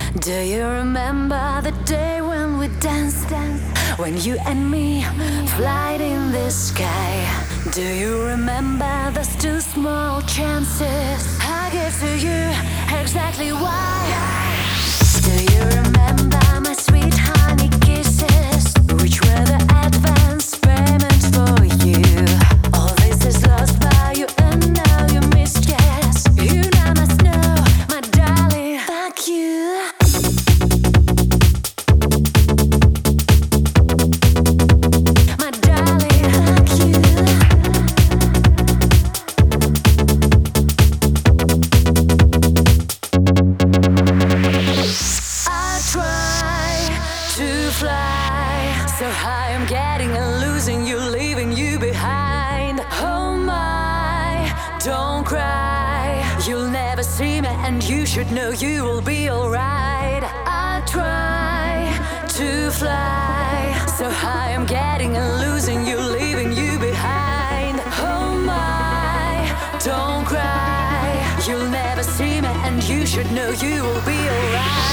Do you remember the day when we danced? When you and me flight in the sky? Do you remember those two small chances I gave to you? Exactly why? Do you remember my sweet honey kisses, which were the advance payment for you? All this is lost by you and now you misguess. You now must know, my darling, fuck you. So high, I'm getting and losing you, leaving you behind. Oh my, don't cry. You'll never see me, and you should know you will be alright. I try to fly. So high, I'm getting and losing you, leaving you behind. Oh my, don't cry. You'll never see me, and you should know you will be alright.